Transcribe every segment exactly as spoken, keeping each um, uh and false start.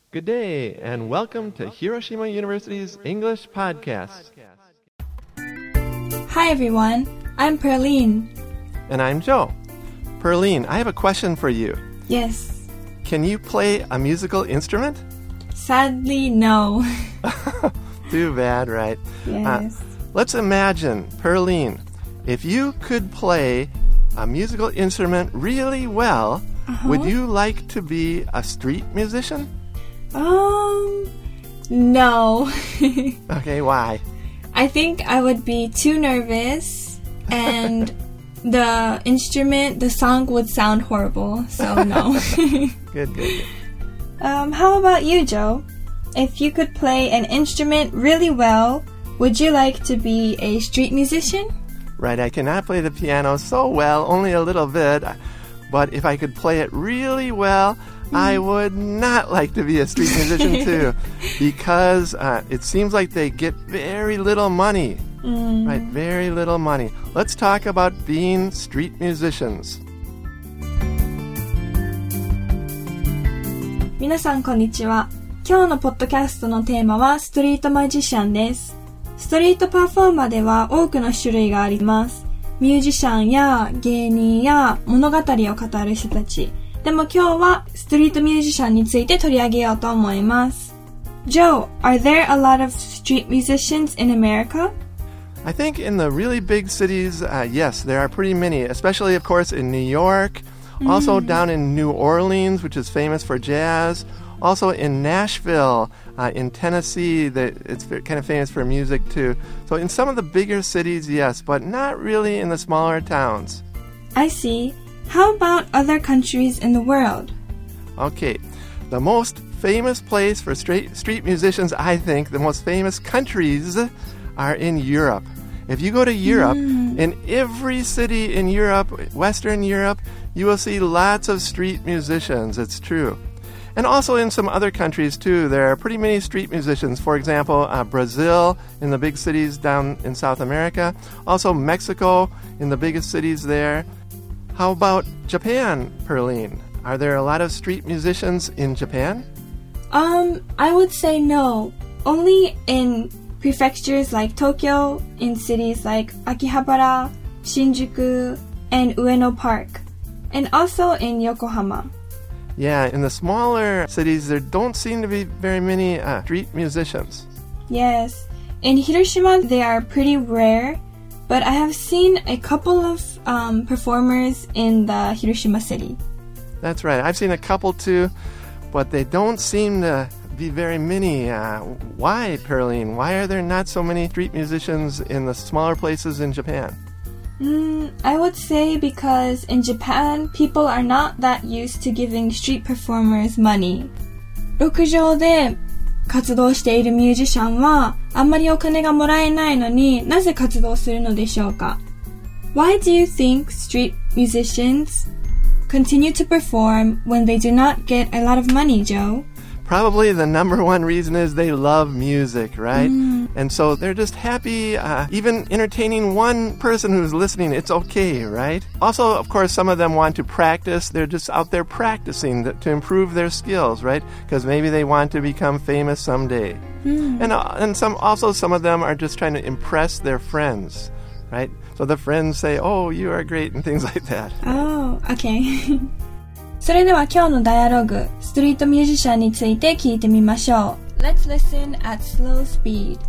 Good day, and welcome to Hiroshima University's English Podcast. Hi everyone, I'm Perline. And I'm Joe. Perline, I have a question for you. Yes. Can you play a musical instrument? Sadly, no. Too bad, right? Yes. Uh, let's imagine, Perline, if you could play a musical instrument really well, uh-huh. would you like to be a street musician? Um, no. Okay, why? I think I would be too nervous and the instrument, the song would sound horrible, so no. Good, good, good. Um, how about you, Joe? If you could play an instrument really well, would you like to be a street musician? Right, I cannot play the piano so well, only a little bit, but if I could play it really well, I would not like to be a street musician too, because uh, it seems like they get very little money, mm. right? Very little money. Let's talk about being street musicians. 皆さんこんにちは。今日のポッドキャストのテーマはストリートマジシャンです。ストリートパフォーマーでは多くの種類があります。ミュージシャンや芸人や物語を語る人たち。でも今日はストリートミュージシャンについて取り上げようと思います。Joe, are there a lot of street musicians in America? I think in the really big cities, uh, yes, there are pretty many, especially, of course, in New York, mm. also down in New Orleans, which is famous for jazz, also in Nashville, uh, in Tennessee, the, it's kind of famous for music too. So in some of the bigger cities, yes, but not really in the smaller towns. I see. How about other countries in the world? Okay, the most famous place for straight, street musicians, I think, the most famous countries are in Europe. If you go to Europe, mm. in every city in Europe, Western Europe, you will see lots of street musicians, it's true. And also in some other countries, too, there are pretty many street musicians. For example, uh, Brazil, in the big cities down in South America. Also Mexico, in the biggest cities there. How about Japan, Perline? Are there a lot of street musicians in Japan? Um, I would say no. Only in prefectures like Tokyo, in cities like Akihabara, Shinjuku, and Ueno Park. And also in Yokohama. Yeah, in the smaller cities, there don't seem to be very many uh, street musicians. Yes. In Hiroshima, they are pretty rare, but I have seen a couple of um, performers in the Hiroshima city. That's right. I've seen a couple too, but they don't seem to be very many. Uh, why, Perline? Why are there not so many street musicians in the smaller places in Japan? Mm, I would say because in Japan, people are not that used to giving street performers money. 路上で活動しているミュージシャンはあんまりお金がもらえないのになぜ活動するのでしょうか? Why do you think street musicians continue to perform when they do not get a lot of money, Joe? Probably the number one reason is they love music, right? Mm. And so they're just happy, uh, even entertaining one person who's listening, it's okay, right? Also, of course, some of them want to practice. They're just out there practicing th- to improve their skills, right? Because maybe they want to become famous someday. Mm. And uh, and some also some of them are just trying to impress their friends, right? So the friends say, oh, you are great, and things like that. Oh, okay. それでは今日のダイアログ、ストリートミュージシャンについて聞いてみましょう。Let's listen at slow speed.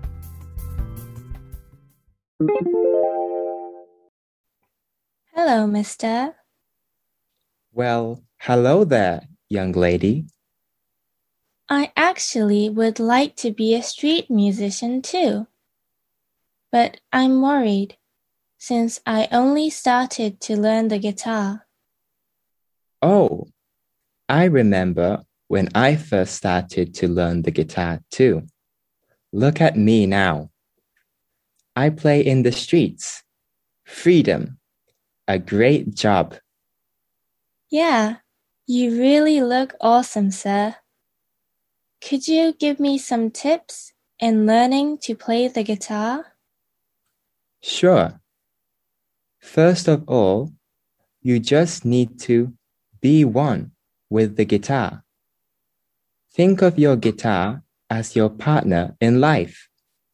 Hello, mister. Well, hello there, young lady. I actually would like to be a street musician too. But I'm worried, since I only started to learn the guitar. Oh, I remember when I first started to learn the guitar too. Look at me now. I play in the streets. Freedom. A great job. Yeah, you really look awesome, sir. Could you give me some tips in learning to play the guitar? Sure. First of all, you just need to be one with the guitar. Think of your guitar as your partner in life.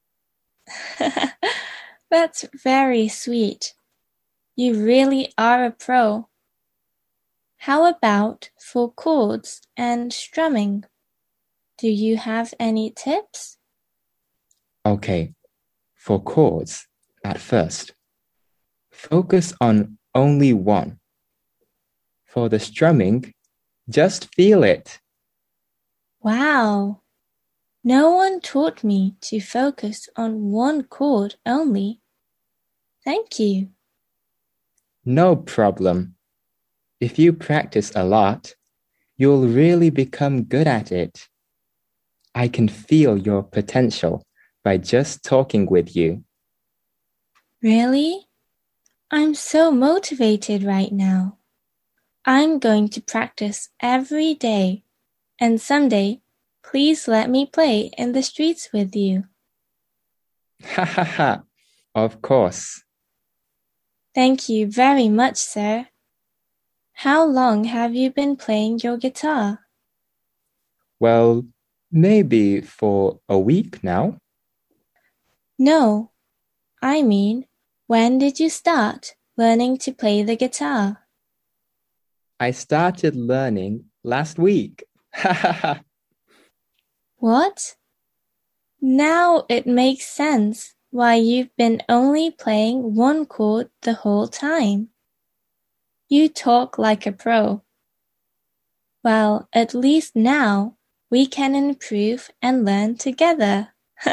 That's very sweet. You really are a pro. How about for chords and strumming? Do you have any tips? Okay, for chords, at first, focus on only one. For the strumming, just feel it. Wow. No one taught me to focus on one chord only. Thank you. No problem. If you practice a lot, you'll really become good at it. I can feel your potential by just talking with you. Really? I'm so motivated right now. I'm going to practice every day, and someday, please let me play in the streets with you. Ha ha ha, of course. Thank you very much, sir. How long have you been playing your guitar? Well, maybe for a week now. No, I mean, when did you start learning to play the guitar? I started learning last week. Ha ha ha. What? Now it makes sense why you've been only playing one chord the whole time. You talk like a pro. Well, at least now we can improve and learn together.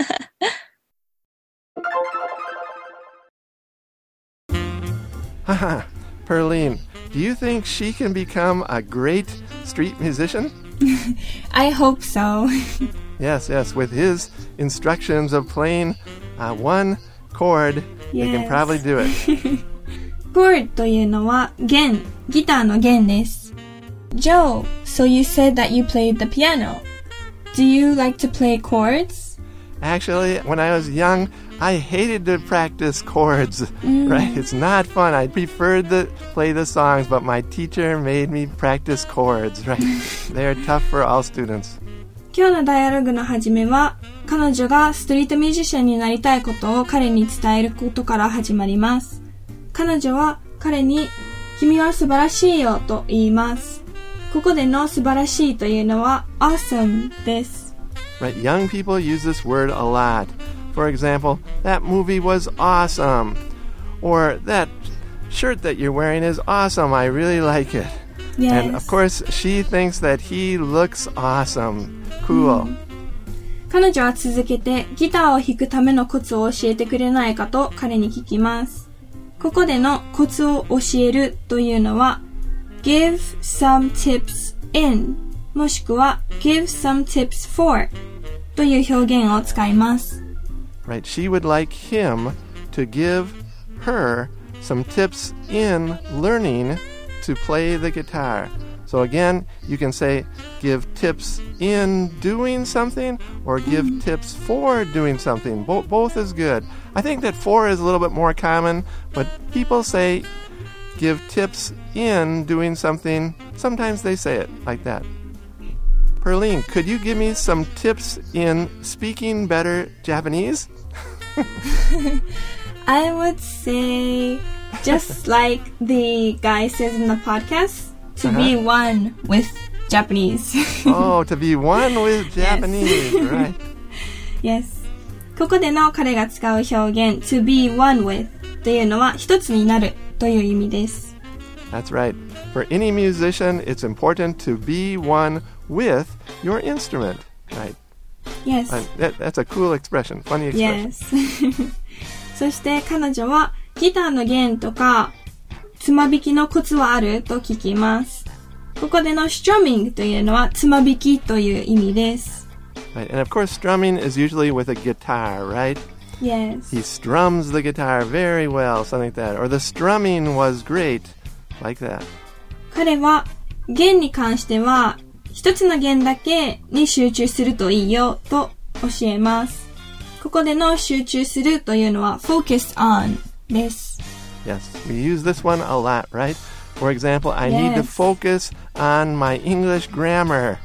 Haha, Perline, do you think she can become a great street musician? I hope so. Yes, yes, with his instructions of playing uh, one chord, you can Yes. probably do it. Chord というのは弦、ギターの弦です。Joe, so you said that you played the piano. Do you like to play chords? Actually, when I was young, I hated to practice chords, right? It's not fun. I preferred to play the songs, but my teacher made me practice chords, right? They're tough for all students. 今日のダイアログの始めは、彼女がストリートミュージシャンになりたいことを彼に伝えることから始まります。彼女は彼に、君は素晴らしいよと言います。ここでの素晴らしいというのは awesome です。 Right? Young people use this word a lot. For example, that movie was awesome. Or that shirt that you're wearing is awesome. I really like it. Yes. And of course, she thinks that he looks awesome. Cool. 彼女は続けてギターを弾くためのコツを教えてくれないかと彼に聞きます。ここでのコツを教えるというのは give some tips in もしくは give some tips for という表現を使います。 Right? She would like him to give her some tips in learning to play the guitar. So again, you can say give tips in doing something or give mm-hmm. tips for doing something. Bo- both is good. I think that for is a little bit more common, but people say give tips in doing something. Sometimes they say it like that. Perline, could you give me some tips in speaking better Japanese? I would say, just like the guy says in the podcast, to uh-huh. be one with Japanese. Oh, to be one with Japanese, yes. right? Yes. ここでの彼が使う表現 to be one with というのは一つになるという意味です。 That's right. For any musician, it's important to be one with your instrument, right? Yes. Uh, that, that's a cool expression, funny expression. Yes. そして彼女はギターの弦とかつま弾きのコツはあると聞きます。ここでの strumming というのはつま弾きという意味です。 Right. And of course, strumming is usually with a guitar, right? Yes. He strums the guitar very well, something like that. Or the strumming was great, like that. 彼は弦に関しては一つの弦だけに集中するといいよと教えます。ここでの集中するというのは focus on です。 Yes, we use this one a lot, right? For example, I yes. need to focus on my English grammar.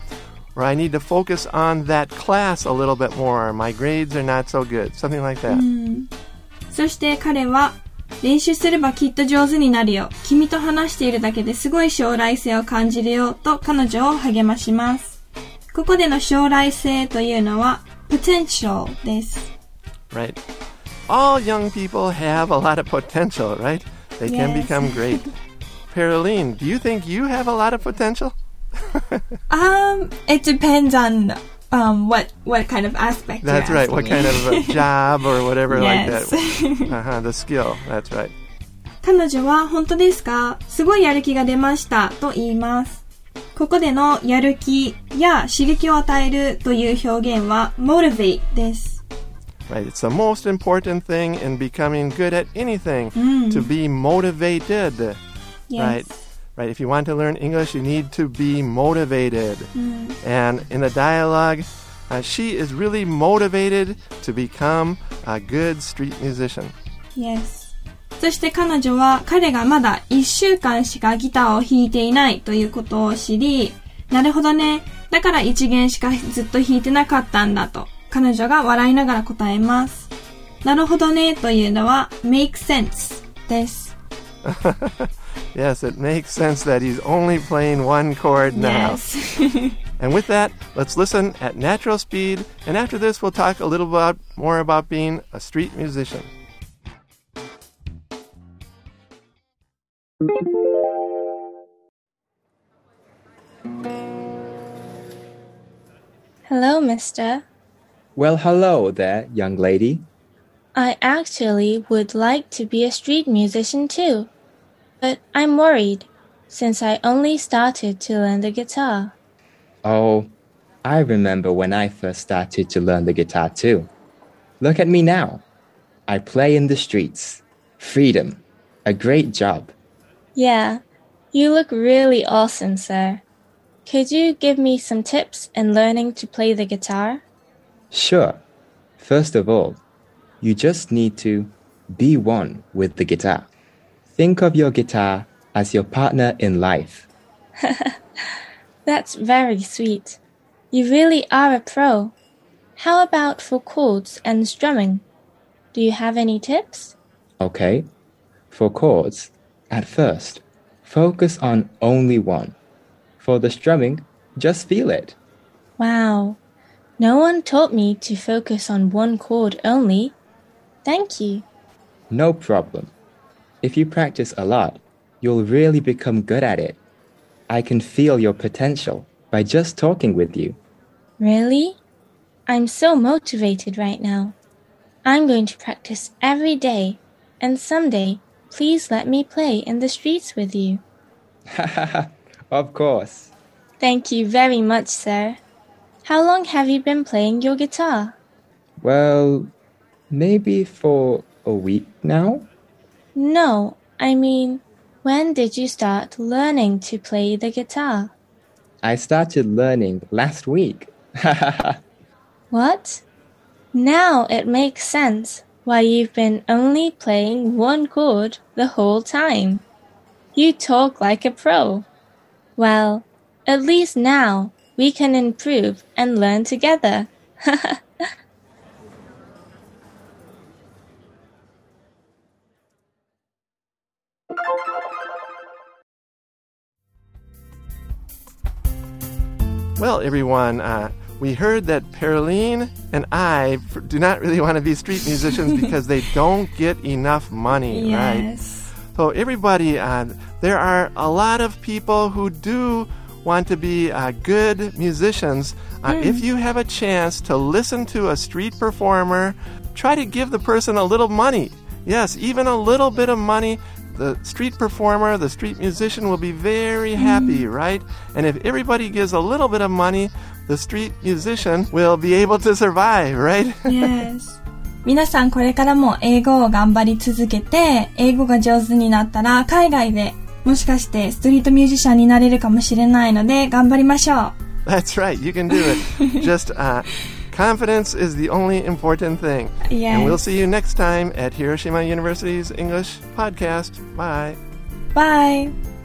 or I need to focus on that class a little bit more. My grades are not so good. Something like that. うん、そして彼は練習すればきっと上手になるよ。君と話しているだけですごい将来性を感じるよと彼女を励まします。ここでの将来性というのは potential です。 Right. All young people have a lot of potential, right? They can Yes. become great. Pearline, do you think you have a lot of potential? um, it depends on um what what kind of aspect. That's you're right. asking What me. kind of a job or whatever like Yes. that. Uh-huh, the skill. That's right. 彼女は本当ですか？すごいやる気が出ましたと言います。ここでのやる気や刺激を与えるという表現は motivate です。 Right. It's the most important thing in becoming good at anything, Mm. to be motivated. Yes. Right. Right. If you want to learn English, you need to be motivated. Mm. And in the dialogue, uh, she is really motivated to become a good street musician. Yes. そして彼女は彼がまだいっしゅうかんしかギターを弾いていないということを知り、なるほどね。だから一弦しかずっと弾いてなかったんだと彼女が笑いながら答えます。なるほどねというのは make sense です。 Yes, it makes sense that he's only playing one chord now. Yes. And with that, let's listen at natural speed. And after this, we'll talk a little about more about being a street musician. Hello, mister. Well, hello there, young lady. I actually would like to be a street musician too, but I'm worried since I only started to learn the guitar. Oh, I remember when I first started to learn the guitar too. Look at me now. I play in the streets. Freedom. A great job. Yeah, you look really awesome, sir. Could you give me some tips in learning to play the guitar? Sure. First of all, you just need to be one with the guitar. Think of your guitar as your partner in life. That's very sweet. You really are a pro. How about for chords and strumming? Do you have any tips? Okay. For chords, at first, focus on only one. For the strumming, just feel it. Wow. No one taught me to focus on one chord only. Thank you. No problem. If you practice a lot, you'll really become good at it. I can feel your potential by just talking with you. Really? I'm so motivated right now. I'm going to practice every day, and someday, please let me play in the streets with you. Of course. Thank you very much, sir. How long have you been playing your guitar? Well, maybe for a week now? No, I mean, when did you start learning to play the guitar? I started learning last week. What? Now it makes sense why you've been only playing one chord the whole time. You talk like a pro. Well, at least now we can improve and learn together. Well, everyone, uh, we heard that Pearline and I f- do not really want to be street musicians because they don't get enough money, right? Yes. So everybody, uh, there are a lot of people who do want to be uh, good musicians. Uh, Mm. If you have a chance to listen to a street performer, try to give the person a little money. Yes, even a little bit of money. The street performer, the street musician will be very happy, right? And if everybody gives a little bit of money, the street musician will be able to survive, right? Yes. 皆さんこれからも英語を頑張り続けて、英語が上手になったら海外でもしかしてストリートミュージシャンになれるかもしれないので頑張りましょう。 That's right. You can do it. Just uh, confidence is the only important thing. Yes. And we'll see you next time at Hiroshima University's English Podcast. Bye. Bye!